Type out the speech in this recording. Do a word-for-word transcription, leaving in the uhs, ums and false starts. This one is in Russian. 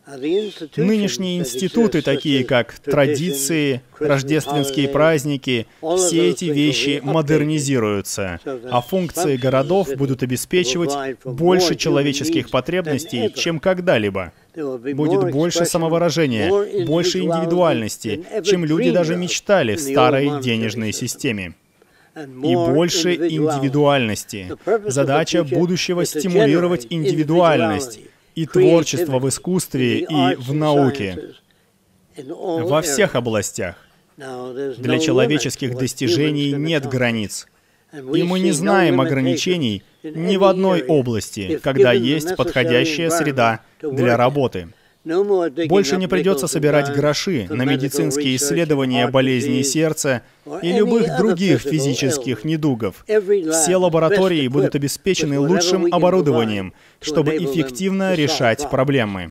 Нынешние институты, такие как традиции, рождественские праздники, все эти вещи модернизируются, а функции городов будут обеспечивать больше человеческих потребностей, чем когда-либо. Будет больше самовыражения, больше индивидуальности, чем люди даже мечтали в старой денежной системе. И больше индивидуальности. Задача будущего — стимулировать индивидуальность и творчество в искусстве и в науке, во всех областях. Для человеческих достижений нет границ. И мы не знаем ограничений ни в одной области, когда есть подходящая среда для работы. Больше не придется собирать гроши на медицинские исследования болезней сердца и любых других физических недугов. Все лаборатории будут обеспечены лучшим оборудованием, чтобы эффективно решать проблемы.